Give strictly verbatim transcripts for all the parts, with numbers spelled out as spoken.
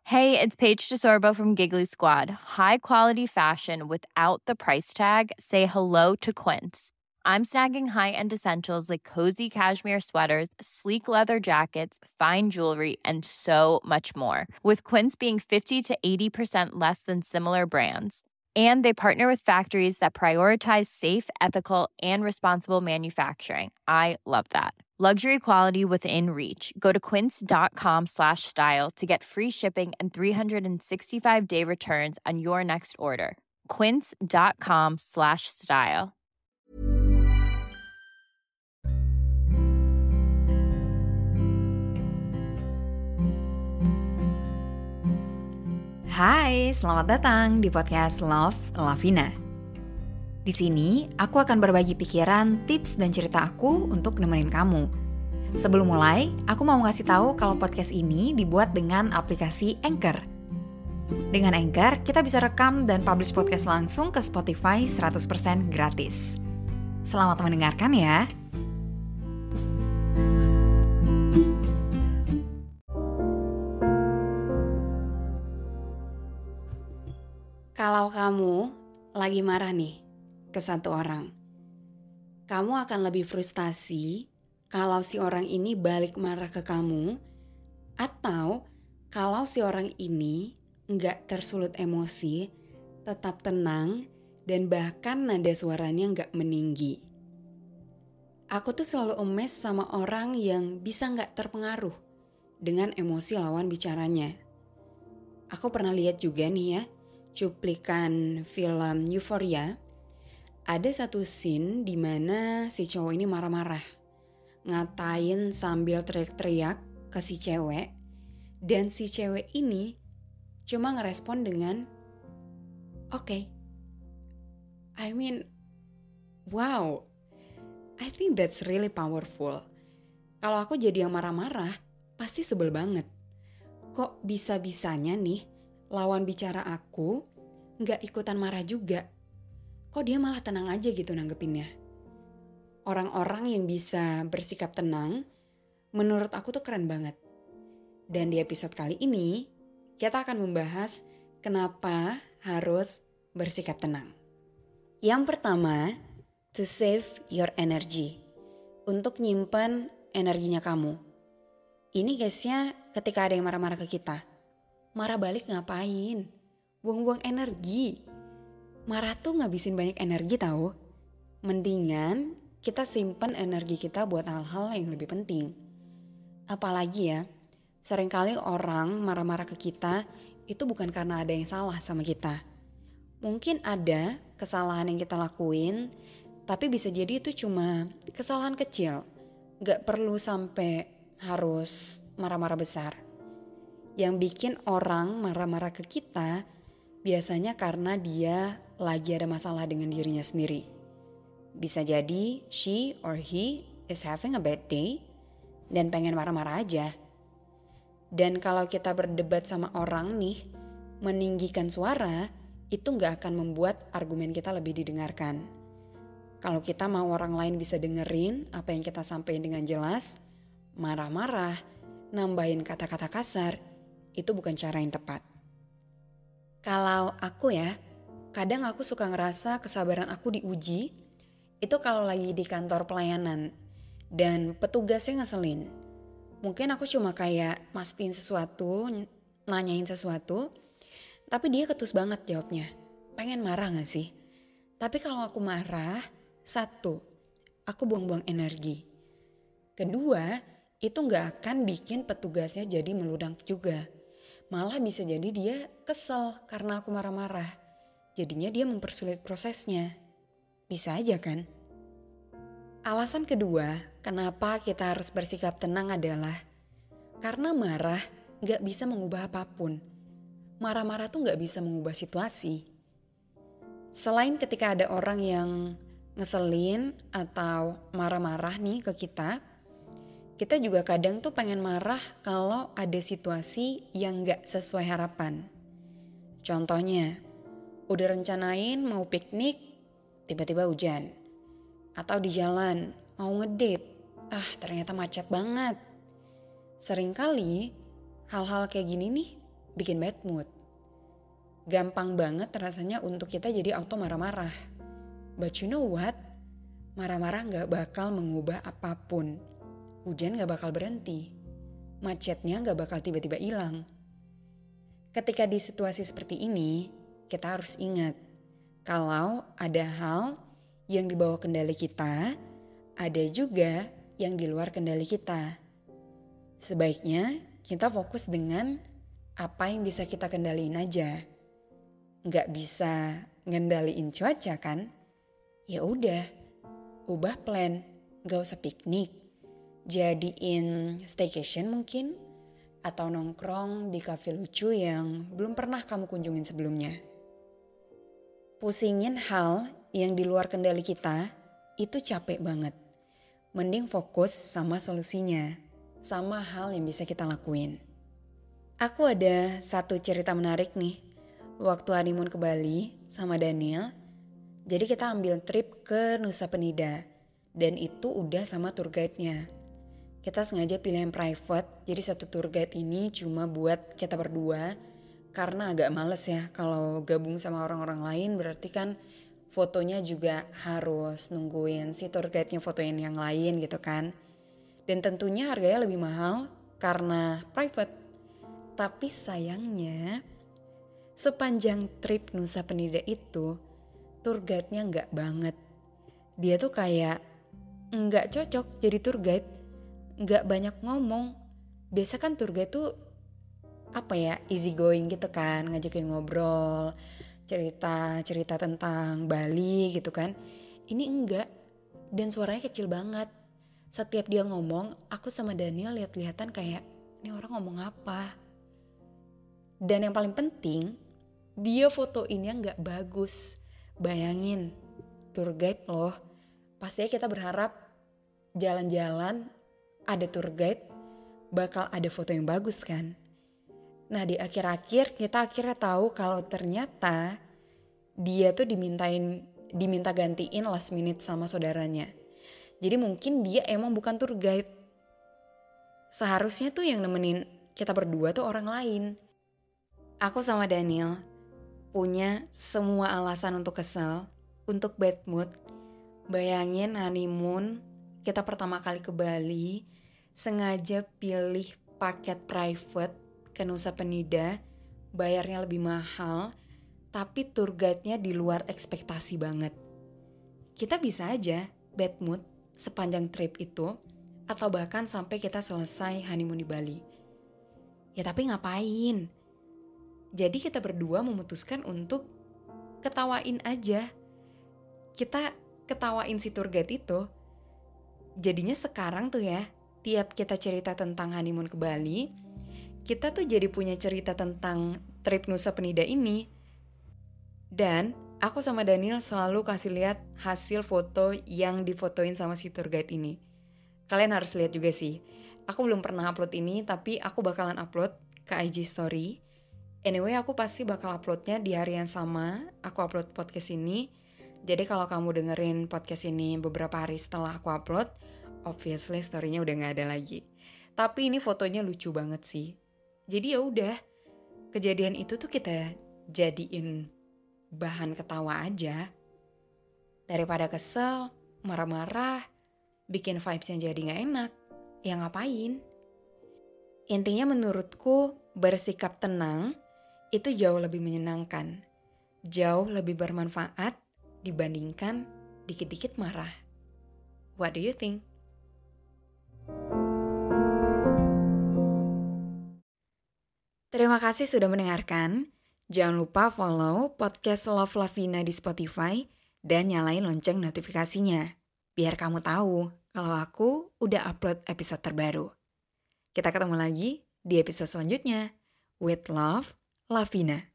Hey, it's Paige DeSorbo from Giggly Squad. High quality fashion without the price tag. Say hello to Quince. I'm snagging high-end essentials like cozy cashmere sweaters, sleek leather jackets, fine jewelry, and so much more. With Quince being fifty to eighty percent less than similar brands. And they partner with factories that prioritize safe, ethical, and responsible manufacturing. I love that. Luxury quality within reach. Go to quince.com slash style to get free shipping and three sixty-five day returns on your next order. Quince.com slash style. Hai, selamat datang di podcast Love Lavina. Di sini, aku akan berbagi pikiran, tips, dan cerita aku untuk nemenin kamu. Sebelum mulai, aku mau ngasih tahu kalau podcast ini dibuat dengan aplikasi Anchor. Dengan Anchor, kita bisa rekam dan publish podcast langsung ke Spotify seratus persen gratis. Selamat mendengarkan ya. Kalau kamu lagi marah nih ke satu orang, kamu akan lebih frustasi kalau si orang ini balik marah ke kamu, atau kalau si orang ini nggak tersulut emosi, tetap tenang, dan bahkan nada suaranya nggak meninggi. Aku tuh selalu emes sama orang yang bisa nggak terpengaruh dengan emosi lawan bicaranya. Aku pernah lihat juga nih ya, cuplikan film Euphoria, ada satu scene di mana si cowok ini marah-marah, ngatain sambil teriak-teriak ke si cewek, dan si cewek ini cuma ngerespon dengan oke. Okay. I mean, wow, I think that's really powerful. Kalau aku jadi yang marah-marah, pasti sebel banget. Kok bisa-bisanya nih lawan bicara aku gak ikutan marah juga? Kok dia malah tenang aja gitu nanggepinnya? Orang-orang yang bisa bersikap tenang, menurut aku tuh keren banget. Dan di episode kali ini, kita akan membahas kenapa harus bersikap tenang. Yang pertama, to save your energy. Untuk nyimpen energinya kamu. Ini guysnya ketika ada yang marah-marah ke kita. Marah balik ngapain? Buang-buang energi. Marah tuh ngabisin banyak energi tahu. Mendingan kita simpen energi kita buat hal-hal yang lebih penting. Apalagi ya, seringkali orang marah-marah ke kita itu bukan karena ada yang salah sama kita. Mungkin ada kesalahan yang kita lakuin, tapi bisa jadi itu cuma kesalahan kecil. Gak perlu sampai harus marah-marah besar. Yang bikin orang marah-marah ke kita biasanya karena dia lagi ada masalah dengan dirinya sendiri. Bisa jadi she or he is having a bad day dan pengen marah-marah aja. Dan kalau kita berdebat sama orang nih, meninggikan suara, itu gak akan membuat argumen kita lebih didengarkan. Kalau kita mau orang lain bisa dengerin apa yang kita sampaikan dengan jelas, marah-marah, nambahin kata-kata kasar, itu bukan cara yang tepat. Kalau aku ya, kadang aku suka ngerasa kesabaran aku diuji, itu kalau lagi di kantor pelayanan dan petugasnya ngeselin. Mungkin aku cuma kayak mastiin sesuatu, nanyain sesuatu, tapi dia ketus banget jawabnya. Pengen marah gak sih? Tapi kalau aku marah, satu, aku buang-buang energi. Kedua, itu gak akan bikin petugasnya jadi meludak juga. Malah bisa jadi dia kesel karena aku marah-marah. Jadinya dia mempersulit prosesnya. Bisa aja kan? Alasan kedua, kenapa kita harus bersikap tenang adalah karena marah gak bisa mengubah apapun. Marah-marah tuh gak bisa mengubah situasi. Selain ketika ada orang yang ngeselin atau marah-marah nih ke kita, kita juga kadang tuh pengen marah kalau ada situasi yang gak sesuai harapan. Contohnya, udah rencanain mau piknik, tiba-tiba hujan. Atau di jalan, mau ngedate, ah ternyata macet banget. Seringkali hal-hal kayak gini nih bikin bad mood. Gampang banget rasanya untuk kita jadi auto marah-marah. But you know what? Marah-marah gak bakal mengubah apapun. Hujan gak bakal berhenti. Macetnya gak bakal tiba-tiba hilang. Ketika di situasi seperti ini, kita harus ingat kalau ada hal yang di bawah kendali kita, ada juga yang di luar kendali kita. Sebaiknya kita fokus dengan apa yang bisa kita kendaliin aja. Nggak bisa ngendaliin cuaca kan? Ya udah, ubah plan, nggak usah piknik, jadiin staycation mungkin, atau nongkrong di kafe lucu yang belum pernah kamu kunjungin sebelumnya. Pusingin hal yang di luar kendali kita itu capek banget. Mending fokus sama solusinya, sama hal yang bisa kita lakuin. Aku ada satu cerita menarik nih. Waktu honeymoon ke Bali sama Daniel, jadi kita ambil trip ke Nusa Penida. Dan itu udah sama tour guide-nya. Kita sengaja pilih yang private, jadi satu tour guide ini cuma buat kita berdua. Karena agak males ya kalau gabung sama orang-orang lain, berarti kan fotonya juga harus nungguin si tour guide-nya fotoin yang lain gitu kan. Dan tentunya harganya lebih mahal karena private. Tapi sayangnya sepanjang trip Nusa Penida itu tour guide-nya enggak banget. Dia tuh kayak enggak cocok jadi tour guide. Enggak banyak ngomong. Biasa kan tour guide tuh apa ya, easy going gitu kan, ngajakin ngobrol, cerita-cerita tentang Bali gitu kan. Ini enggak, dan suaranya kecil banget. Setiap dia ngomong, aku sama Daniel lihat-lihatan kayak, ini orang ngomong apa? Dan yang paling penting, dia fotoinnya enggak bagus. Bayangin, tour guide loh. Pastinya kita berharap jalan-jalan ada tour guide, bakal ada foto yang bagus kan. Nah di akhir-akhir kita akhirnya tahu kalau ternyata dia tuh dimintain diminta gantiin last minute sama saudaranya. Jadi mungkin dia emang bukan tour guide. Seharusnya tuh yang nemenin kita berdua tuh orang lain. Aku sama Daniel punya semua alasan untuk kesel, untuk bad mood. Bayangin honeymoon, kita pertama kali ke Bali, sengaja pilih paket private ke Nusa Penida, bayarnya lebih mahal, tapi tour guide-nya di luar ekspektasi banget. Kita bisa aja bad mood sepanjang trip itu, atau bahkan sampai kita selesai honeymoon di Bali. Ya tapi ngapain? Jadi kita berdua memutuskan untuk ketawain aja. Kita ketawain si tour guide itu. Jadinya sekarang tuh ya, tiap kita cerita tentang honeymoon ke Bali, kita tuh jadi punya cerita tentang trip Nusa Penida ini. Dan aku sama Daniel selalu kasih lihat hasil foto yang difotoin sama si tour guide ini. Kalian harus lihat juga sih. Aku belum pernah upload ini, tapi aku bakalan upload ke I G story. Anyway, aku pasti bakal uploadnya di hari yang sama aku upload podcast ini. Jadi kalau kamu dengerin podcast ini beberapa hari setelah aku upload, obviously story-nya udah gak ada lagi. Tapi ini fotonya lucu banget sih. Jadi ya udah, kejadian itu tuh kita jadiin bahan ketawa aja. Daripada kesel, marah-marah, bikin vibes-nya jadi gak enak, ya ngapain? Intinya menurutku bersikap tenang itu jauh lebih menyenangkan, jauh lebih bermanfaat dibandingkan dikit-dikit marah. What do you think? Terima kasih sudah mendengarkan. Jangan lupa follow podcast Love Lavina di Spotify dan nyalain lonceng notifikasinya. Biar kamu tahu kalau aku udah upload episode terbaru. Kita ketemu lagi di episode selanjutnya. With love, Lavina.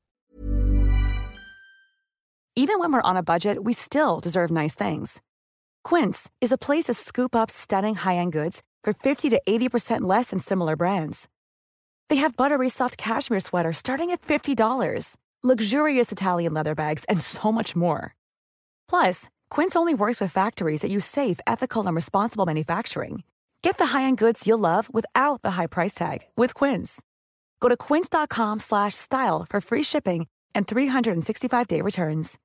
Even when we're on a budget, we still deserve nice things. Quince is a place to scoop up stunning high-end goods for fifty to eighty percent less than similar brands. They have buttery soft cashmere sweaters starting at fifty dollars, luxurious Italian leather bags, and so much more. Plus, Quince only works with factories that use safe, ethical, and responsible manufacturing. Get the high-end goods you'll love without the high price tag with Quince. Go to quince.com slash style for free shipping and three sixty-five day returns.